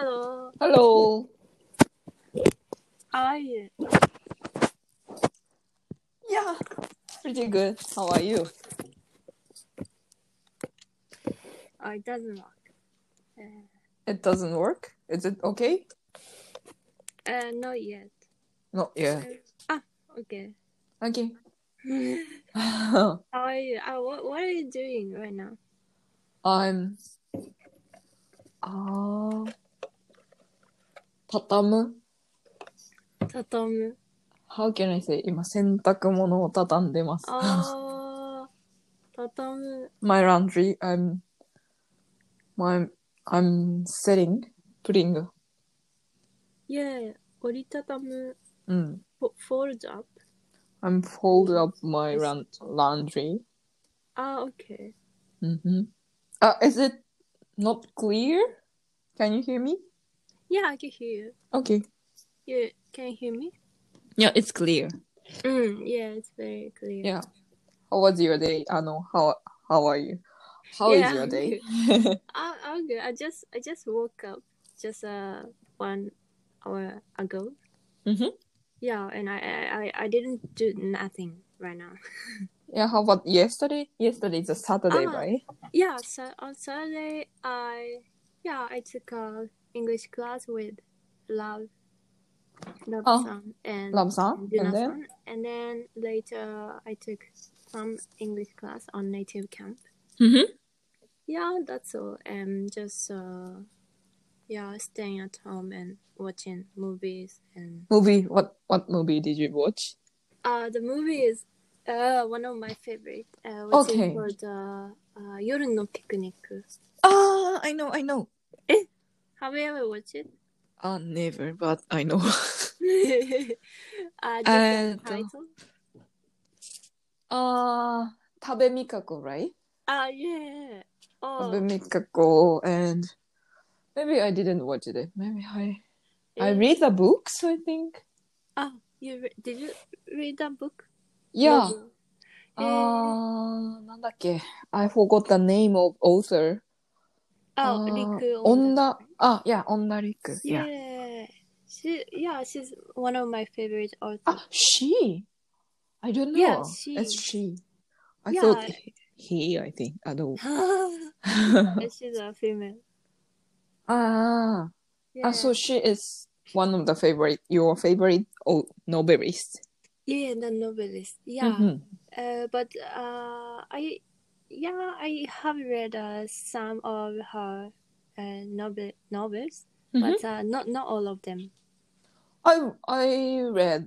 Hello. Hello. How are you? Yeah, pretty good. How are you? Oh, it doesn't work. It doesn't work? Is it okay? Not yet. Not yet. Okay. Okay. How are you? What are you doing right now? I'm 畳む Tatamu. How can I say? 今洗濯物を畳んでます。 Tatamu. My laundry. I'm putting. Yeah. Oritatamu. うん。 Fold up. I'm fold up my laundry. Okay. Mm-hmm. Is it not clear? Can you hear me? Yeah, I can hear you. Okay. You can you hear me? Yeah, it's clear. Yeah, it's very clear. Yeah. How was your day? How are you? How is your day? I'm good. I just woke up just 1 hour ago. Mm-hmm. Yeah, and I didn't do nothing right now. Yeah, how about yesterday? Yesterday is a Saturday, right? Yeah, so on Saturday I took a English class with Love-san and Love-san? Juna-san, and then later I took some English class on native camp. Mm-hmm. Yeah, that's all. And just staying at home and watching movies and Movie? What movie did you watch? the movie is one of my favorite, which is called Yoru no Picnic. I know. Have you ever watched it? Never, but I know. Just the title? 食べみかこ, right? Yeah. Oh. 食べみかこ, and maybe I didn't watch it. Maybe I read the books, I think. Did you read that book? Yeah. なんだっけ? I forgot the name of author. Riku Onda. Yeah, Onda Riku. Yeah. She's one of my favorite authors. She? I don't know. Yeah, she. It's she. I thought he, I think. I don't. She's a female. So she is one of your favorite novelist. Yeah, the novelist. Yeah. Mm-hmm. But I have read some of her novels, but not all of them. I've read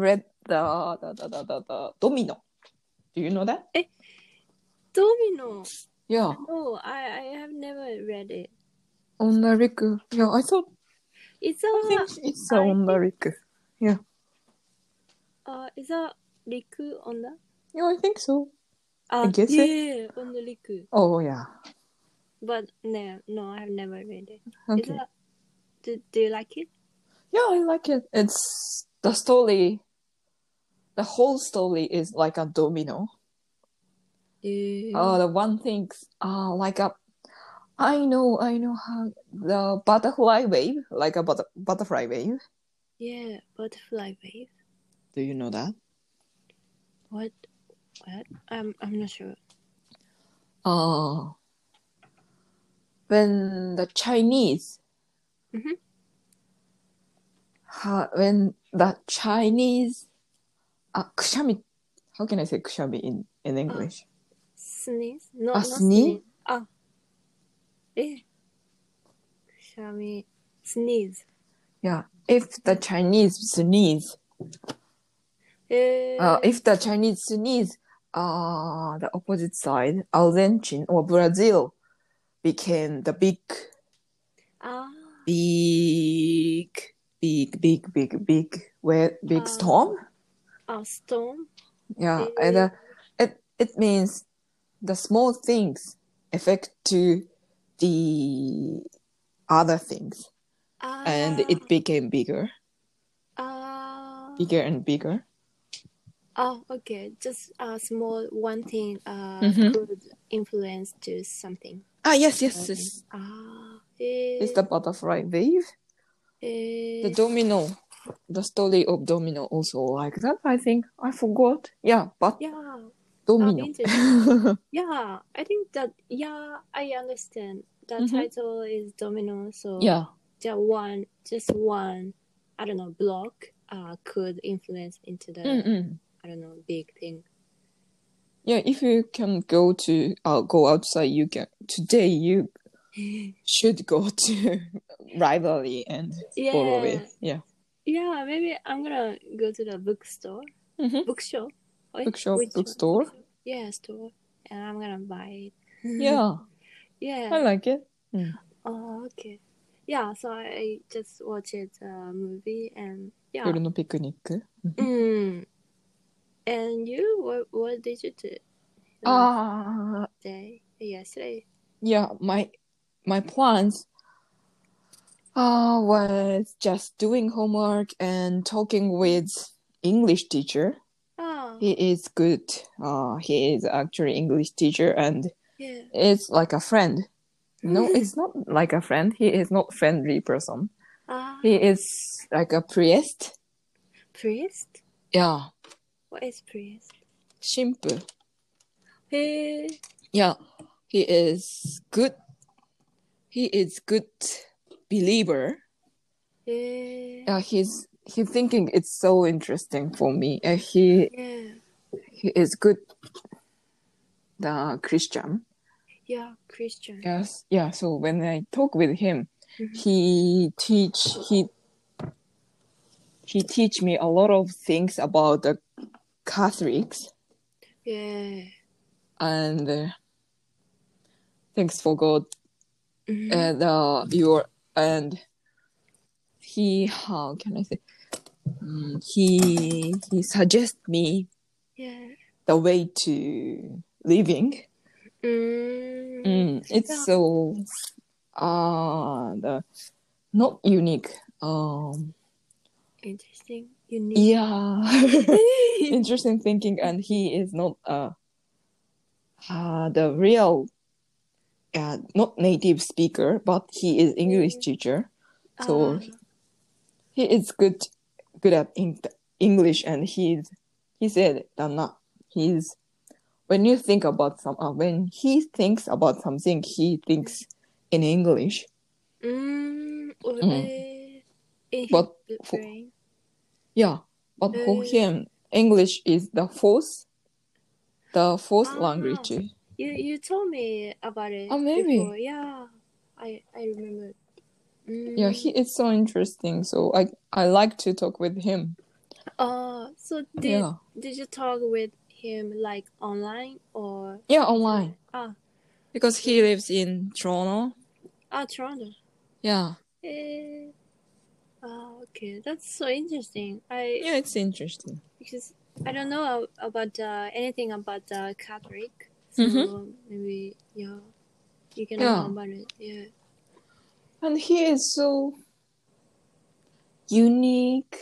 the Domino. Do you know that? Domino. Yeah. No, I have never read it. Onda Riku. Yeah, I thought. I think it's Onda Riku. Yeah. Is that Riku Onda? Yeah, I think so. I guess yeah, Onda Riku. Oh yeah. But no, I have never read it. Okay. Do you like it? Yeah, I like it. It's the story. The whole story is like a domino. The one thing, like a. I know how the butterfly wave, like a butterfly wave. Yeah, butterfly wave. Do you know that? What? I'm not sure. When the Chinese. Mm-hmm. When the Chinese. Kushami. How can I say kushami in English? Sneeze? No, not sneeze. Kushami. Sneeze. Yeah, if the Chinese sneeze. If the Chinese sneeze, the opposite side, Argentina or Brazil, became the big storm. Storm. Yeah, and it means the small things affect to the other things, and it became bigger. Bigger and bigger. Okay. Just a small one thing could influence to something. Yes. It's the butterfly wave. The domino. The story of domino also like that, I think. I forgot. Yeah, but domino. Yeah, I think that, I understand. The title is domino, so just one, I don't know, block could influence into the, I don't know, big thing. Yeah, if you can go outside, you can. Today you should go to library and follow it. Yeah. Yeah, maybe I'm gonna go to the bookstore. Bookshop. Bookstore. Yeah, store. And I'm gonna buy it. Yeah. Yeah. I like it. Oh, okay. Yeah, so I just watched a movie and 夜のピクニック。 And you, what did you do? Yesterday. Yeah, my plans was just doing homework and talking with English teacher. He is good. He is actually English teacher and it's like a friend. No, it's not like a friend. He is not friendly person. He is like a priest. Priest? Yeah. What is priest? 神父. Hey. Yeah, he is good. He is good believer. Yeah, he's thinking it's so interesting for me. He is good. The Christian. Yeah, Christian. Yes, yeah. So when I talk with him, he teach me a lot of things about the Catholics. Yeah. And thanks for God. And he, how can I say? He suggests me the way to living. It's so not unique. Interesting. Unique. Yeah. Interesting thinking, and he is not the real not native speaker, but he is English teacher. So he is good at English, and he said that when he thinks about something, he thinks in English. But for him, English is the fourth language. You told me about it. Maybe. Before. Yeah, I remember. Yeah, he is so interesting. So I like to talk with him. So did you talk with him like online or? Yeah, online. Because he lives in Toronto. Toronto. Yeah. Okay, that's so interesting. Yeah, it's interesting. Because I don't know about anything about the Catholic, so maybe you can know about it. Yeah. And he is so unique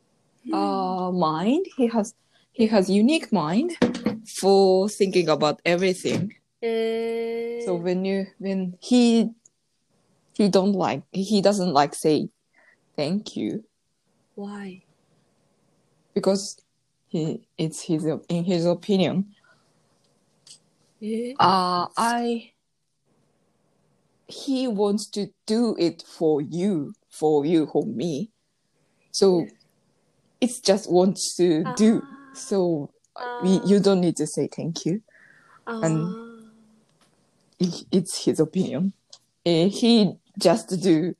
mind. He has unique mind for thinking about everything. So when he doesn't like say thank you. Why? Because in his opinion. He wants to do it for you, for me. So it's just wants to do. So you don't need to say thank you. And it's his opinion. He just do.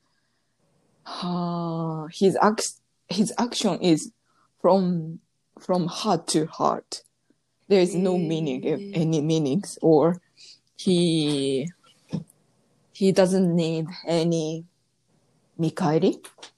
His action is from heart to heart. There is no meaning, any meanings, or he doesn't need any mikaeri.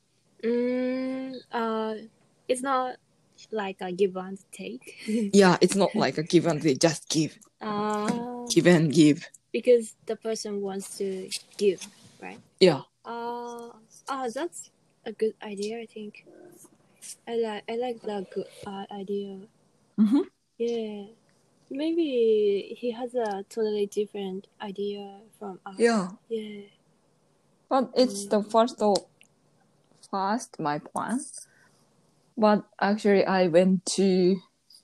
It's not like a give and take. Yeah, it's not like a give and take, just give. Give and give. Because the person wants to give, right? Yeah. That's a good idea, I think. I like that good idea. Mm-hmm. Yeah. maybe he has a totally different idea from us. Yeah. Yeah. But it's the first my plan. But actually, I went to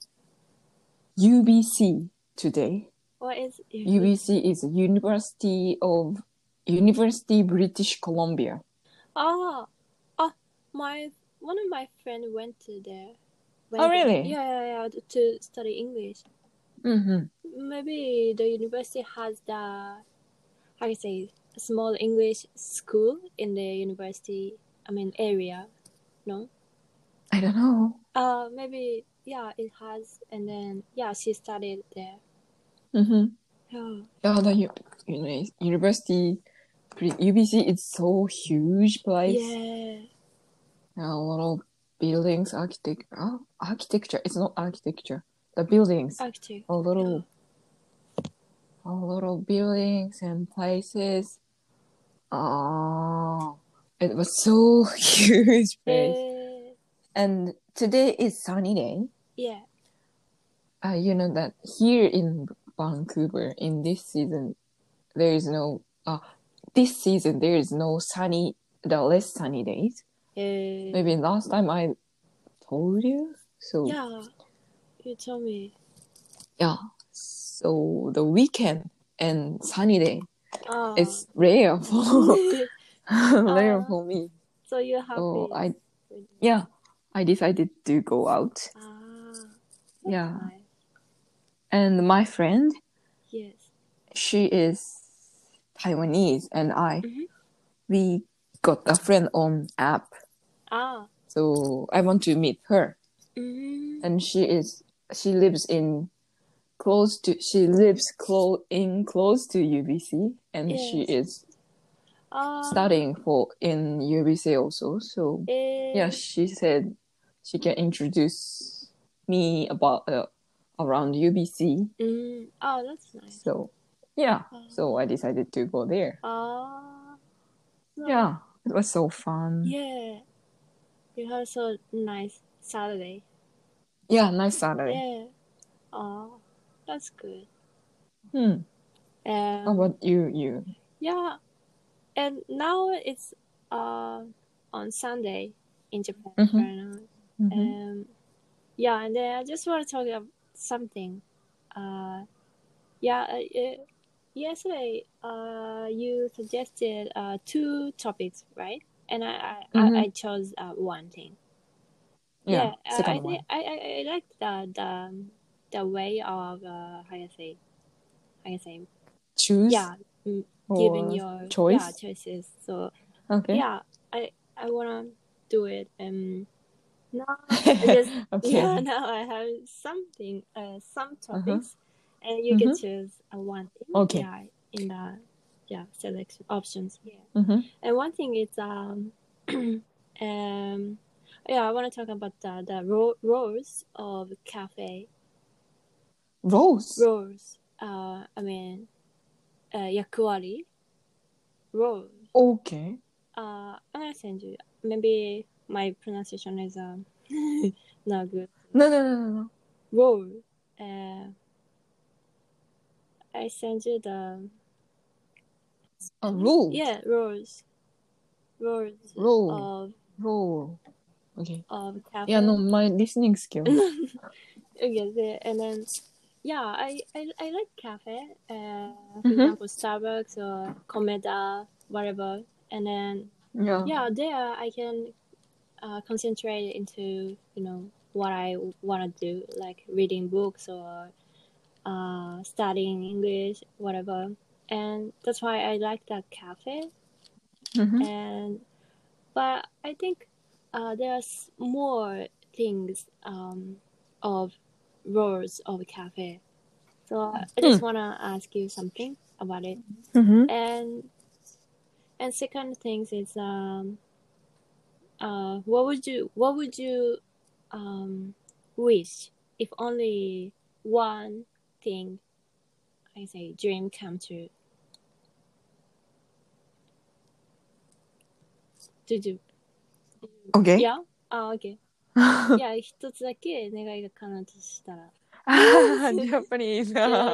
UBC today. What is UBC is University British Columbia. One of my friends went to there. Really? Yeah, to study English. Maybe the university has a small English school in the university, area, no? I don't know. Maybe, it has, and then, she studied there. Yeah, the university, UBC is so huge place. Yeah. A lot of buildings, architecture. It's not architecture. The buildings. A lot of buildings and places. It was so huge place. And today is sunny day. Yeah. You know that here in Vancouver in this season, there is no less sunny days. Maybe last time I told you. So yeah, you told me. Yeah. So the weekend and sunny day, it's rare for me. So you're happy. So I decided to go out. Yeah. Nice. And my friend, yes, she is Taiwanese, and we got a friend on app. So I want to meet her. And she lives close to UBC, and she is studying in UBC also. So she said she can introduce me about around UBC. That's nice. So so I decided to go there. Yeah, it was so fun. Yeah, you had so nice Saturday. Yeah, nice Saturday. Yeah. That's good. How about you? Yeah, and now it's on Sunday in Japan right now. And then I just want to talk about something. Yesterday you suggested 2 topics, right? And I chose one thing. Yeah, I like the way of how you say choose. Yeah, giving your choices. So okay. I wanna do it. Now I just now I have some topics, and you can choose one thing. Okay. In the selection options here. And one thing is I want to talk about the roles of cafe. Roles. Yakuari. Roles. Okay. I'm gonna send you. Maybe my pronunciation is not good. No. Role. I send you the rule. Yeah, roles. Role. Okay. Of cafe. Yeah, no, my listening skills. Okay, and then I like cafe. For example, Starbucks or Komeda, whatever. And then there I can concentrate into what I want to do, like reading books or studying English, whatever. And that's why I like that cafe. But I think there's more things of roles of cafe. So I just wanna ask you something about it. And second thing is what would you wish if only one thing dream come true? Did you? Okay. Yeah? Okay. 一つだけ願いが叶うとしたら。 Japanese.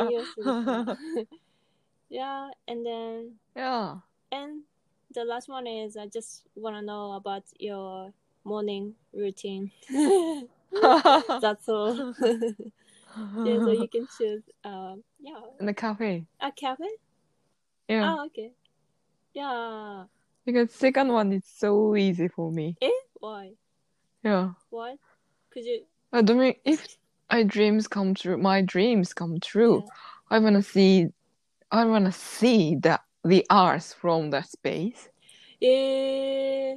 Yeah, and then and the last one is I just want to know about your morning routine. That's all. Yeah, so you can choose. Yeah. In the cafe. A cafe? Yeah. Oh, okay. Yeah. Because second one is so easy for me. Why? Yeah. Why? Could you? I mean, if my dreams come true, I wanna see the Earth from the space. Yeah.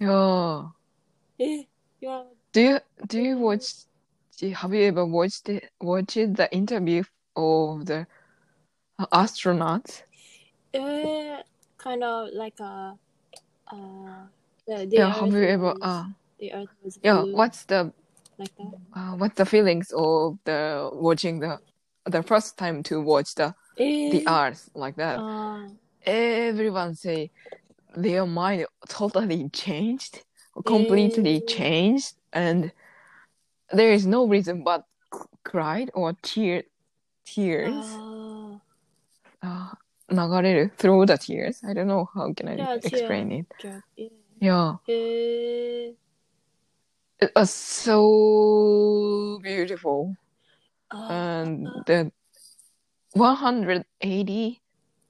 Yeah. Do you watch? Have you ever watched the interview of the astronauts? Kind of like a. Have you ever? The Earth was blue. Yeah. What's the like that? What's the feelings of the watching the first time to watch the Earth like that? Everyone say their mind totally changed, completely changed, and there is no reason but cried or tears. 流れる through the tears. I don't know how can I explain it. Yeah. It was so beautiful. And the 180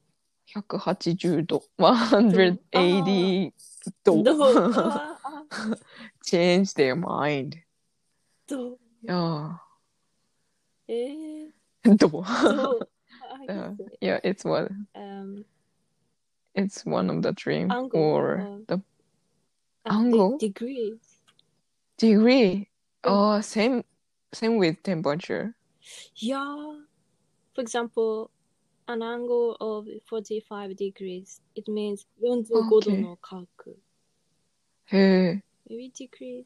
度 180 度 changed their mind. Yeah. 度 yeah, it's one of the dream or the angle degree. Oh, same with temperature. Yeah. For example, an angle of 45 degrees, it means 45度の角。Maybe degrees.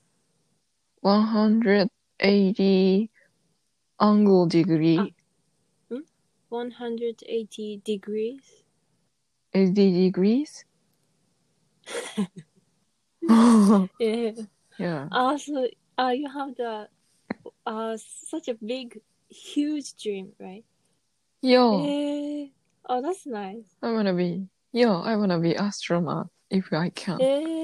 180 angle degree. 180 degrees. 80 degrees? Yeah. Also, you have the such a big, huge dream, right? Yeah. Oh, that's nice. I wanna be astronaut if I can.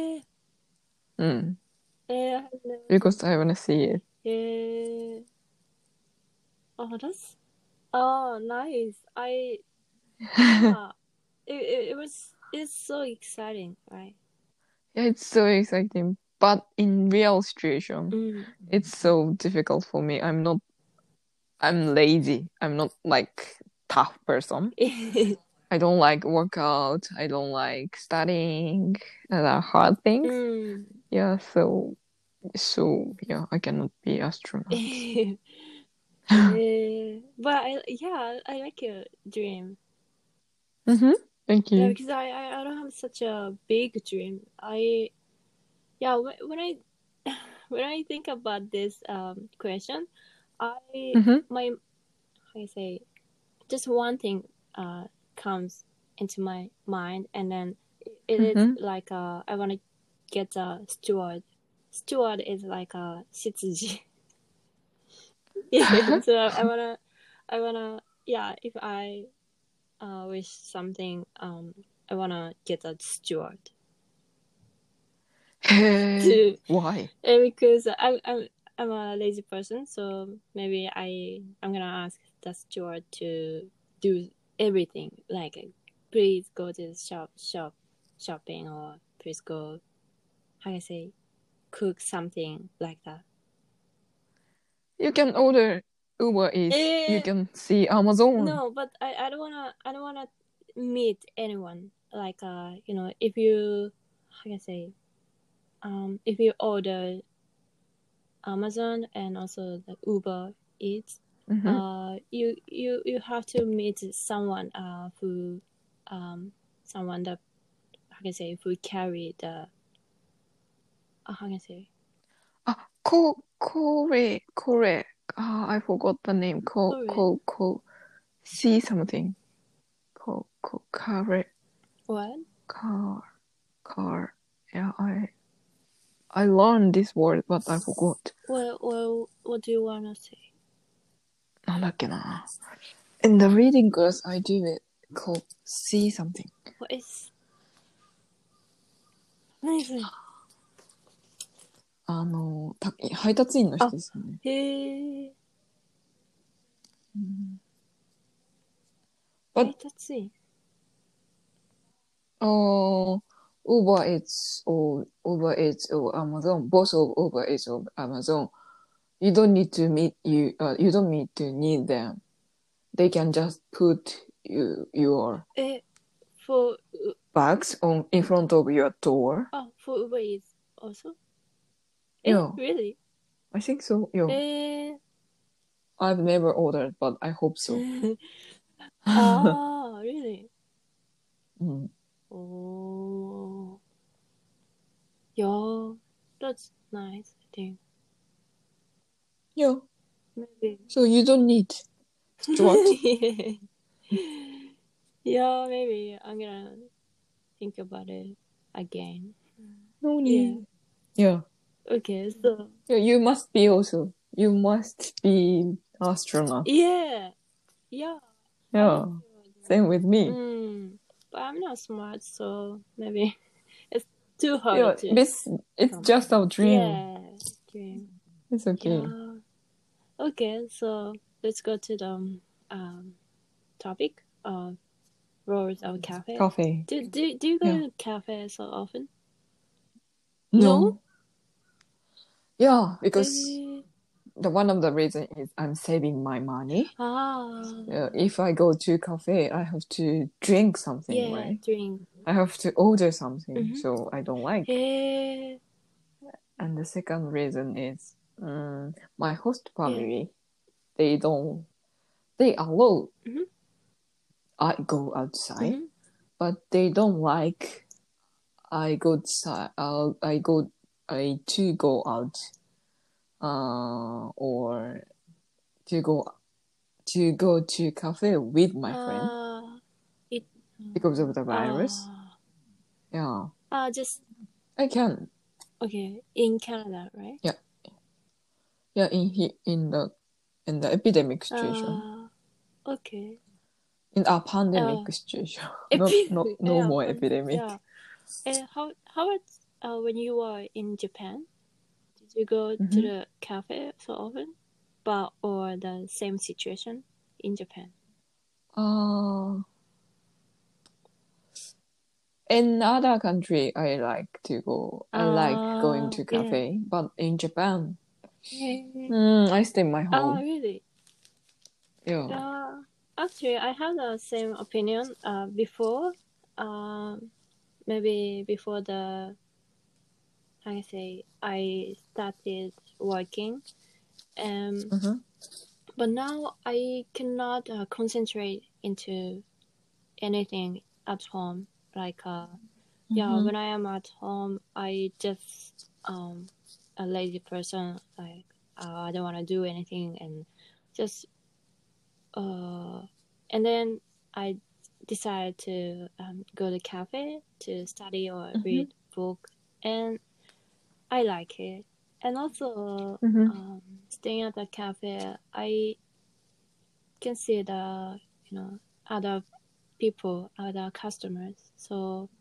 Because I wanna see it. Oh, that's nice. It's so exciting, right? Yeah, it's so exciting. But in real situation, it's so difficult for me. I'm lazy. I'm not like tough person. I don't like workout. I don't like studying hard things. Yeah, so yeah, I cannot be astronaut. But I like your dream. Thank you. Yeah, because I don't have such a big dream. When I think about this question, how I say, just one thing comes into my mind, and then it is like I want to get a steward. Steward is like a 執事. Yeah, so I wanna if I wish something, I wanna get a steward. Why? Because I'm a lazy person, so maybe I'm gonna ask the steward to do everything. Like, please go to the shopping, or please go, how I say, cook something like that. You can order Uber Eats. You can see Amazon. No, but I don't wanna meet anyone. Like if you, how can I say, if you order Amazon and also the Uber Eats, you have to meet someone who someone that, how can I say, who carry the how can I say, Kore. I forgot the name. See something. Car. What? Car. Yeah, I learned this word, but I forgot. Well, what do you wanna say? なんだっけな。In the reading class, I do it called see something. What is? 何それ？ 配達員の人ですよね。 へえ。 But 配達員 Uber Eats or Amazon, both of Uber Eats or Amazon, you don't need to need them. They can just put your for bags in front of your door. For Uber Eats also? Yeah. Really? I think so. Yeah. I've never ordered, but I hope so. Really? Oh. Yeah, that's nice, I think. Yeah. Maybe. So you don't need what? Yeah, maybe I'm gonna think about it again. No need. Yeah. Okay, so. Yeah, you must be also. You must be astronaut. Yeah. Yeah. Same with me. But I'm not smart, so maybe it's too hard to. It's just our dream. Yeah, dream. It's okay. Yeah. Okay, so let's go to the topic of roles of cafe. Cafe. Do you go to cafe so often? No? Yeah, because one of the reasons is I'm saving my money. If I go to cafe, I have to drink something, right? Drink. I have to order something, so I don't like. And the second reason is my host family. They allow I go outside, but they don't like I go outside. I to go out, or to go to cafe with my friend because of the virus. Yeah. Just. I can. Okay, in Canada, right? Yeah. Yeah, in the epidemic situation. Okay. In a pandemic situation. No more epidemic. Yeah. How about when you were in Japan? Did you go to the cafe so often, or the same situation in Japan? In other country, I like to go. I like going to cafe, but in Japan, I stay in my home. Really? Yeah. Actually, I have the same opinion. Before, maybe before I started working, but now I cannot concentrate into anything at home. Like when I am at home, I just a lazy person. Like I don't want to do anything, and just and then I decided to go to cafe to study or read book, and I like it. And also staying at the cafe, I can see the other people, other customers. So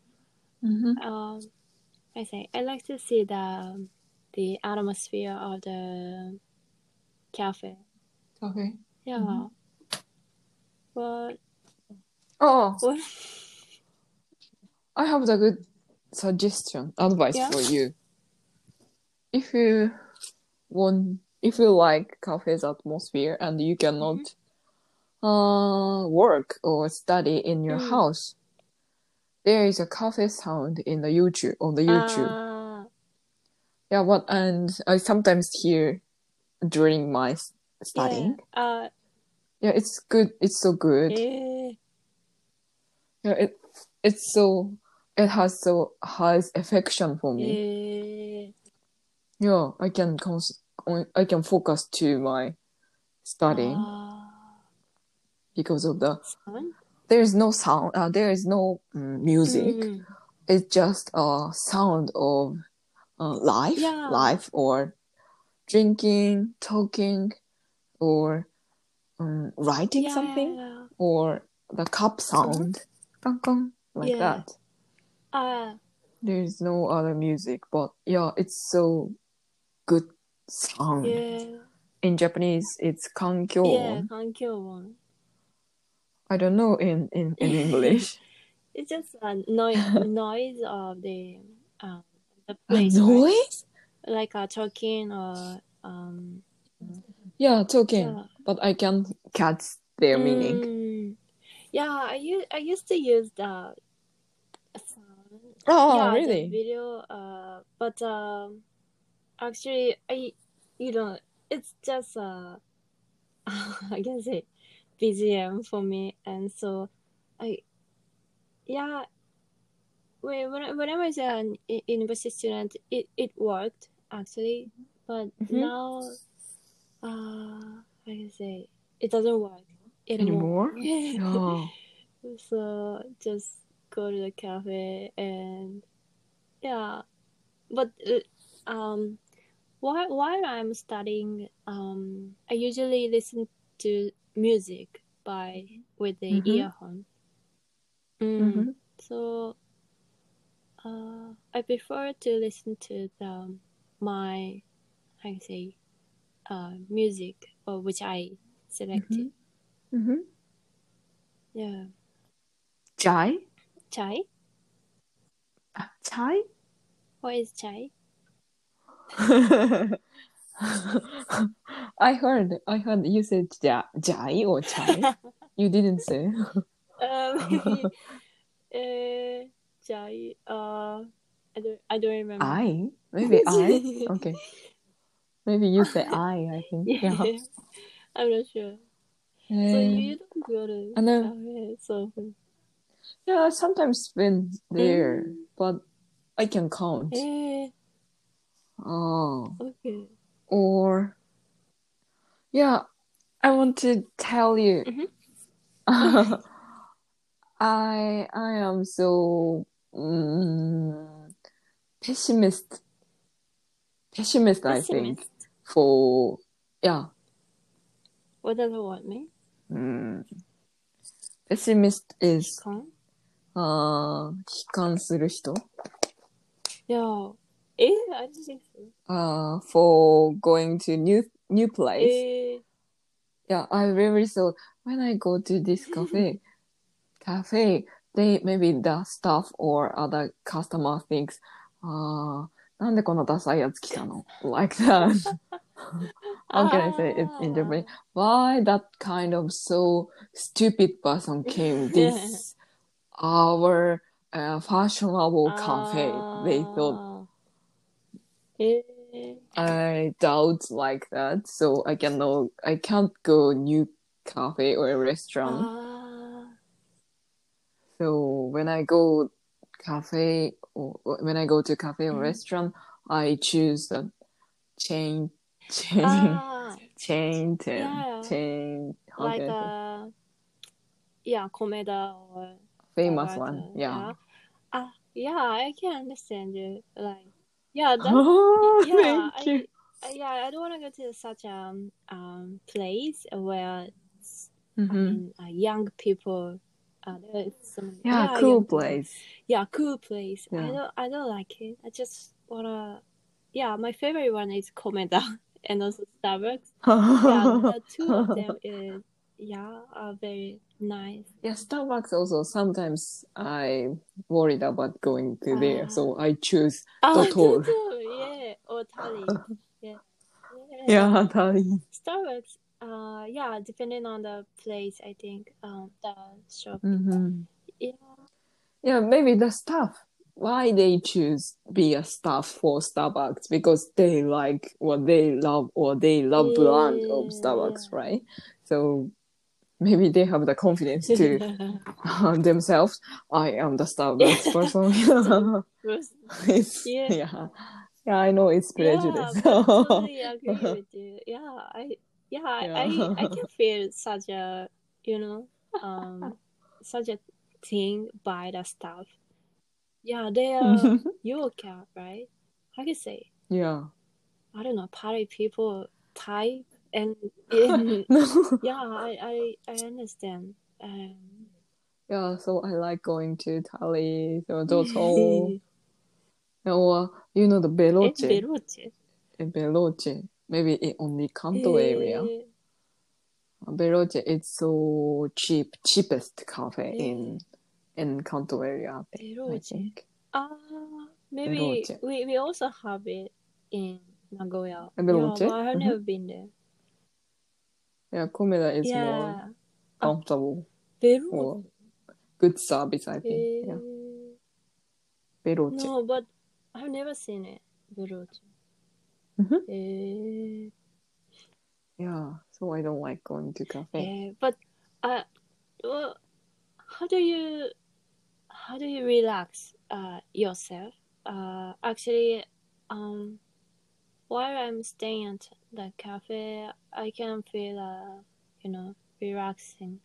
I like to see the atmosphere of the cafe. Okay. Yeah. But what? I have the good advice for you. If you like cafe's atmosphere and you cannot work or study in your house, there is a cafe sound on the YouTube. Yeah, and I sometimes hear during my studying. Yeah, it's good. It's so good. Yeah, it has so high affection for me. Yeah, I can focus to my studying because of the sound? There is no sound. There is no music. It's just a sound of life or drinking, talking, or writing something or the cup sound, like that. There's no other music, but yeah, it's so good sound. In Japanese, it's kankyōwon. Kankyōwon. I don't know in English. It's just a noise of the place. A noise? Right? Like talking or talking. But I can't catch their meaning. Yeah, I used to use the sound. Oh, really? The video. But actually, it's just I can say BGM for me, and so when I was an university student, it worked actually, but now I can say it doesn't work anymore. So just go to the cafe and but while I'm studying, I usually listen to music with the earphone. So I prefer to listen to my music which I selected. Yeah. Chai? Chai? Chai? What is chai? I heard you said chai or chai. You didn't say. Maybe chai. I don't remember. Maybe I. Okay. Maybe you say I think. Yeah. I'm not sure. So you don't go to cafe so often? Yeah, sometimes been there, but I can count. Okay. Or I want to tell you. I am so pessimist, I think. For What does that mean? Pessimist is 悲観する人。 Yeah. I don't think so. For going to new place. I really thought when I go to this cafe, maybe the staff or other customer thinks, なんでこのダサいやつ来たの? Like that. How can I say it in Japanese? Why that kind of so stupid person came this our fashionable cafe? They thought. I doubt like that, so I can't go new cafe or restaurant. So when I go to cafe or restaurant, I choose the chain. Like Komeda or famous one. Yeah, I can understand you. Like, that's thank you. I don't want to go to such a place where young people. Cool place. Cool place. I don't like it. I just wanna. My favorite one is Komeda and also Starbucks. The two of them are very nice. Starbucks also sometimes I worried about going to there, so I choose Totoro. Or Tali. Tali. Starbucks. Depending on the place, I think the shop. Maybe the staff. Why they choose be a staff for Starbucks? Because they like what they love or they love brand of Starbucks, right? So maybe they have the confidence to themselves. I am the Starbucks person. I know it's prejudice. I totally agree with you. I can feel such a such a thing by the staff. They are Yoka, right? How can you say? I don't know, party people type And yeah, I understand. Yeah, so I like going to Tally, so Doto, or the Veloce. Veloce, maybe in only Kanto area. Veloce, it's so cheapest cafe in Kanto area, I think. Maybe we also have it in Nagoya. Veloce? Yeah, but I've never been there. Yeah, Komeda is more comfortable. Or good service, I think. Yeah. Veloce. No, but I've never seen it. Veloce. Yeah, so I don't like going to cafe. But well, how do you relax yourself? Actually, while I'm staying at the cafe, I can feel relaxing.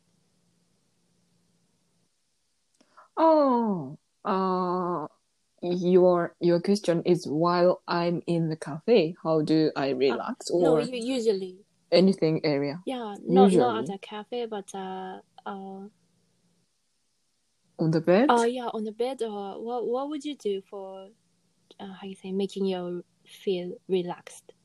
Oh, your question is while I'm in the cafe, how do I relax? Or no, usually anything area. Yeah, not at a cafe, but on the bed. Yeah, on the bed. Or what would you do for how you say making you feel relaxed?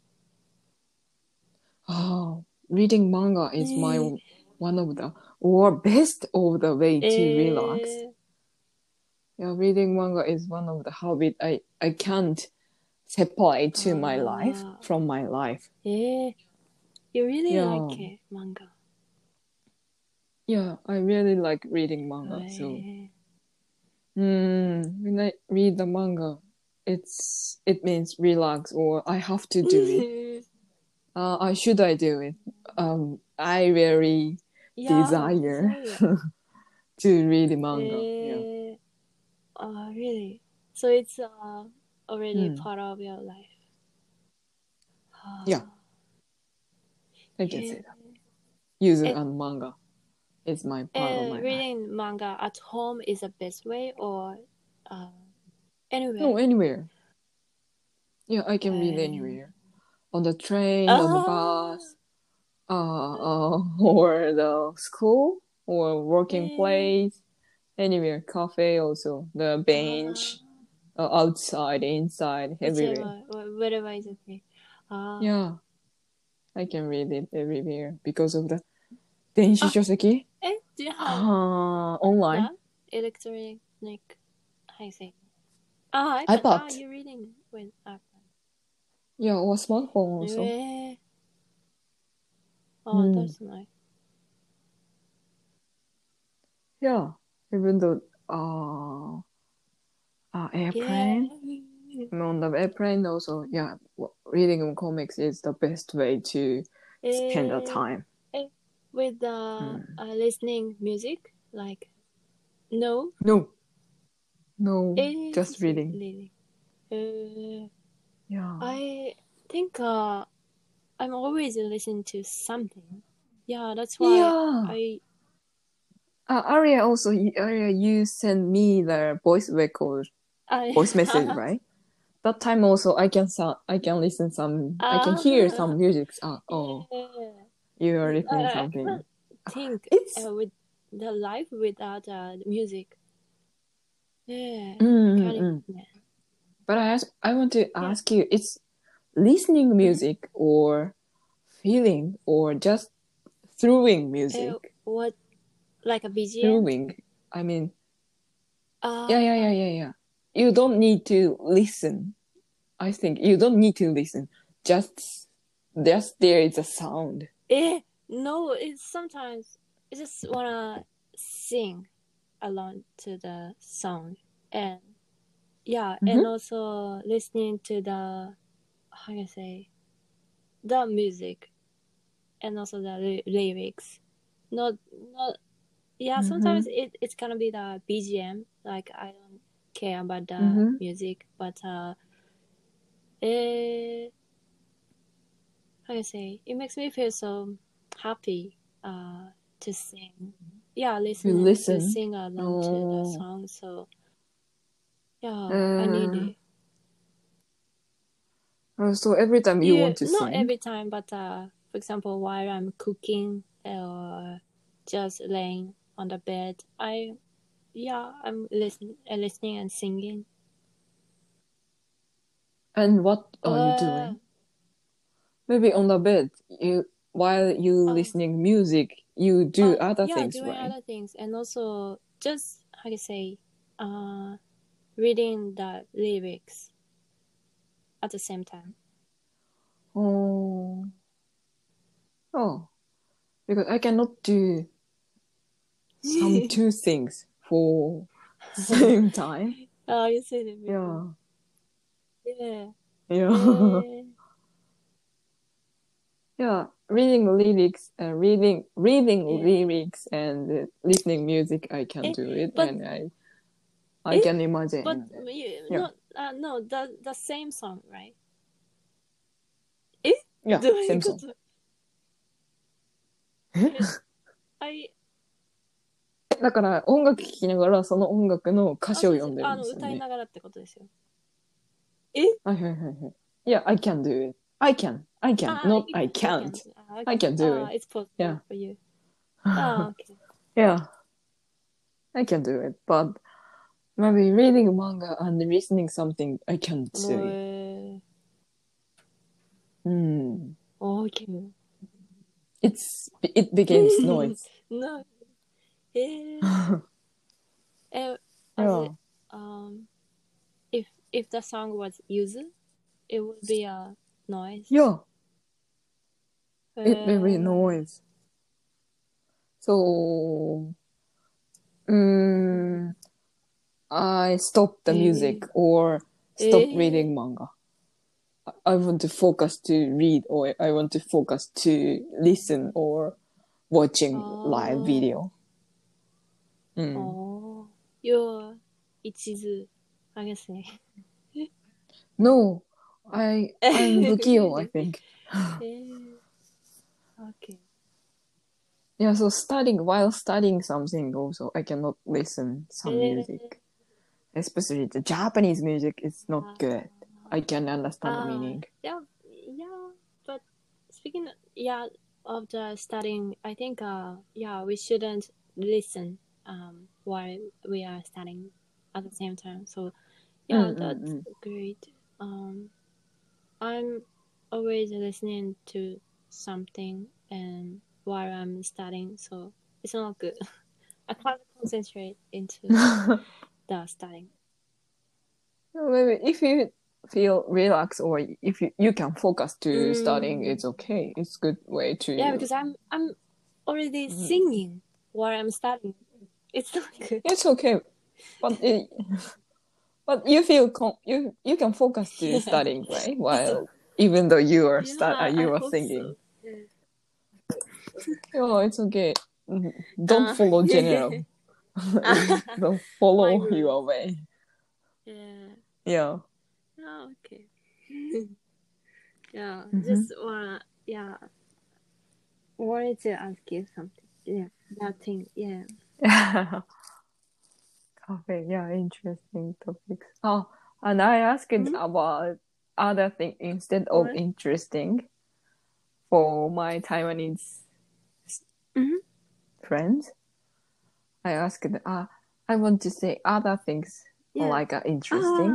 Oh, reading manga is one of the best of the way to relax. Yeah, reading manga is one of the habit I can't separate to my life from my life. You really like it, manga? Yeah, I really like reading manga. So, when I read the manga, it means relax, or I have to do it. Should I do it? I really desire to read the manga. Really? So it's already part of your life. Yeah, I can say that. Using manga is my part of my reading life. Manga at home is the best way, or anywhere? No, anywhere. Yeah, I can read anywhere. On the train, on the bus, or the school, or working place, anywhere. Cafe also, the bench, outside, inside, everywhere. Whatever is okay. Yeah, I can read it everywhere because of the 電子書籍? Do you have online? Electronic, how you say? iPad. You're reading with iPad. Yeah, or smartphone also. That's nice. Yeah, even though airplane. On the airplane also, yeah, reading comics is the best way to spend the time. With listening music, like no, just reading. Yeah. I think I'm always listening to something. Yeah, that's why Aria also, you send me the voice record, voice message, right? That time also I can listen some, I can hear some music. You are listening something. I think it's with the life without music. But I want to ask you, it's listening music or feeling or just throwing music? What, like a BGM? Throwing. I mean, yeah. You don't need to listen. I think you don't need to listen. Just there is a sound. No, it's sometimes I just wanna sing along to the song, and and also listening to the how you say the music, and also the lyrics. Not sometimes it's gonna be the BGM. Like I don't care about the music, but how you say, it makes me feel so happy to sing. Yeah, listen to sing along to the song. So I need it. So every time you want to sing? Not every time, but for example, while I'm cooking or just laying on the bed, I'm listening and singing. And what are you doing? Maybe on the bed, while you listening music, you do other things, doing right? other things, and also just how to say, reading the lyrics at the same time. Oh, because I cannot do some two things for same time. Oh, you said it before. Yeah. Yeah, reading lyrics, lyrics and listening music, I can do it, and I can imagine. But no, the same song, right? Yeah, same song. I だから音楽聴きながらその音楽の歌詞を読んでるんですよね。 歌いながらってことですよ。 はい。Yeah, I can do it. I can, not I can't. I can do it. It's possible for you. Okay. Yeah, I can do it, but maybe reading manga and listening something I can't do it. Okay. It becomes noise. No. If the song was Yuzu, it would be a noise. Yeah. It will be noise. So, I stop the music or stop reading manga. I want to focus to read, or I want to focus to listen or watching live video. You're ichizu, I guess. No, I'm bukio, I think. Okay. Yeah, so while studying something also, I cannot listen some music. Especially the Japanese music is not good. I can understand the meaning. Yeah, but speaking of the studying, I think we shouldn't listen while we are studying at the same time. So that's great. I'm always listening to something and while I'm studying, so it's not good. I can't concentrate into the studying. Maybe if you feel relaxed or if you can focus to studying, it's okay. It's a good way to. Yeah, because I'm already singing while I'm studying. It's not good. It's okay, but you feel you can focus to studying, right? While even though you are singing. So. Oh, it's okay. Don't follow general. Don't follow your way. Yeah. Oh, okay. Just wanted to ask you something. Yeah, that thing. Yeah. Okay. Yeah, interesting topics. Oh, and I asked about other things instead of interesting for my Taiwanese friends. I asked, I want to say other things like interesting.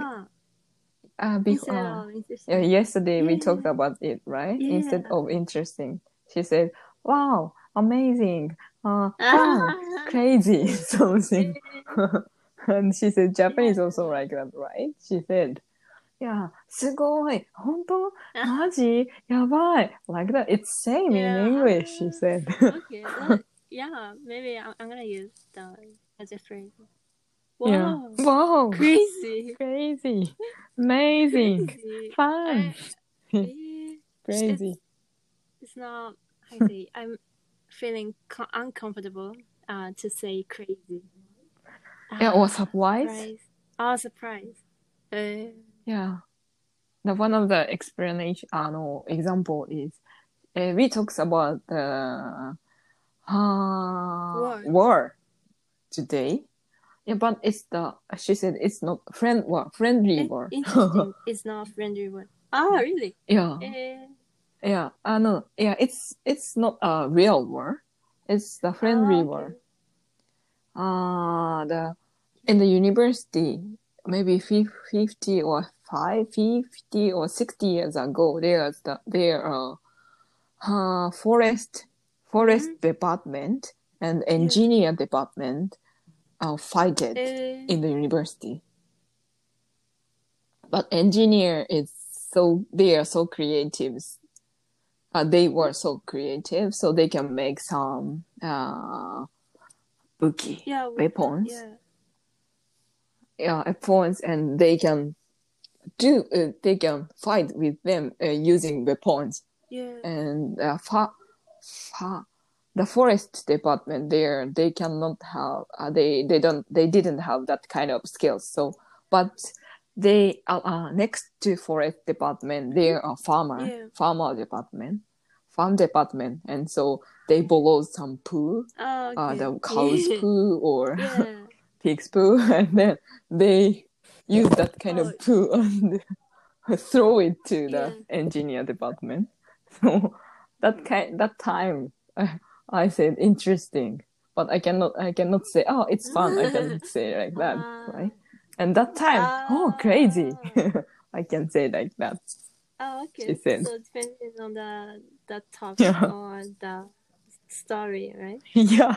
Yesterday we talked about it, right? Instead of interesting, she said, "Wow, amazing, fun, crazy, something." And she said Japanese also like that, right? She said, "Yeah, すごい, 本当, マジ, やばい, like that. It's same in English," she said. Okay, maybe I'm gonna use that as a phrase. Wow. Yeah. Wow. Crazy. Amazing. Crazy. Fun. Crazy. It's not, how do you say, I'm feeling uncomfortable to say crazy. Or surprise. Surprise. Yeah. One of the explanation, example is, we talked about the war today. Yeah, but she said it's not friendly war. Interesting. It's not friendly war. Ah, really? Yeah. Yeah, no, yeah, it's not a real war. It's the friendly war. In the university, maybe 50 or 50 or 60 years ago, there's forest department and engineer department fight it in the university. But engineer they are so creative. They were so creative, so they can make some weapons. Weapons, and they can fight with them using weapons. And the forest department there, they cannot have they didn't have that kind of skills. So, but they next to forest department, there are farm department, and so they borrow some poo, the cow's poo or pig's poo, and then they use that kind of poo and throw it to the engineer department. So that time I said interesting, but I cannot say, oh, it's fun. I cannot say like that, right? And that time, crazy. I can say like that. Okay. She said. So depending on the topic or the story, right? Yeah.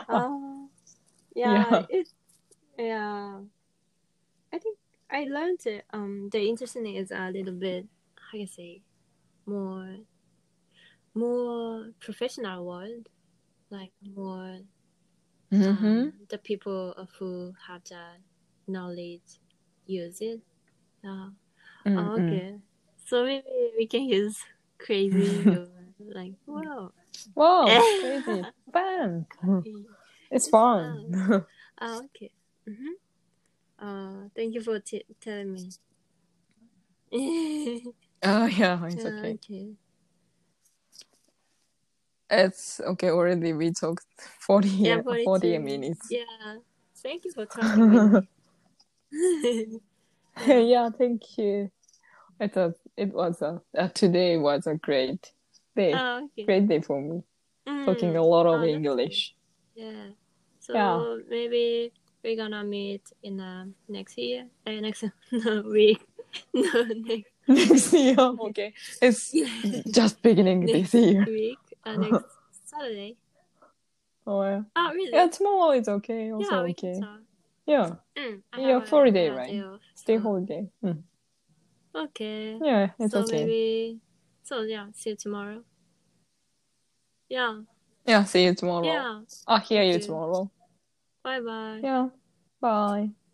I think I learned it. The interesting is a little bit, how can I say, more professional world, like more the people who have the knowledge use it. Okay, so maybe we can use crazy or like wow, crazy, fun. It's fun. Okay. Thank you for telling me. Yeah, it's okay. It's okay already. We talked 40 minutes. Yeah. Thank you for talking with me. Yeah, thank you. Today was a great day. Great day for me. Talking a lot of English. Yeah. So maybe we're gonna meet in next year. Next week. No, next year. Okay. It's just beginning this year. Week. Next Saturday. Oh yeah. Oh really? Yeah, tomorrow is okay. Also okay. Yeah. Yeah, holiday, right? Stay holiday. Okay. Yeah, it's okay. Maybe. So yeah, see you tomorrow. Yeah. Yeah, see you tomorrow. Yeah. Hear you tomorrow. Bye bye. Yeah. Bye.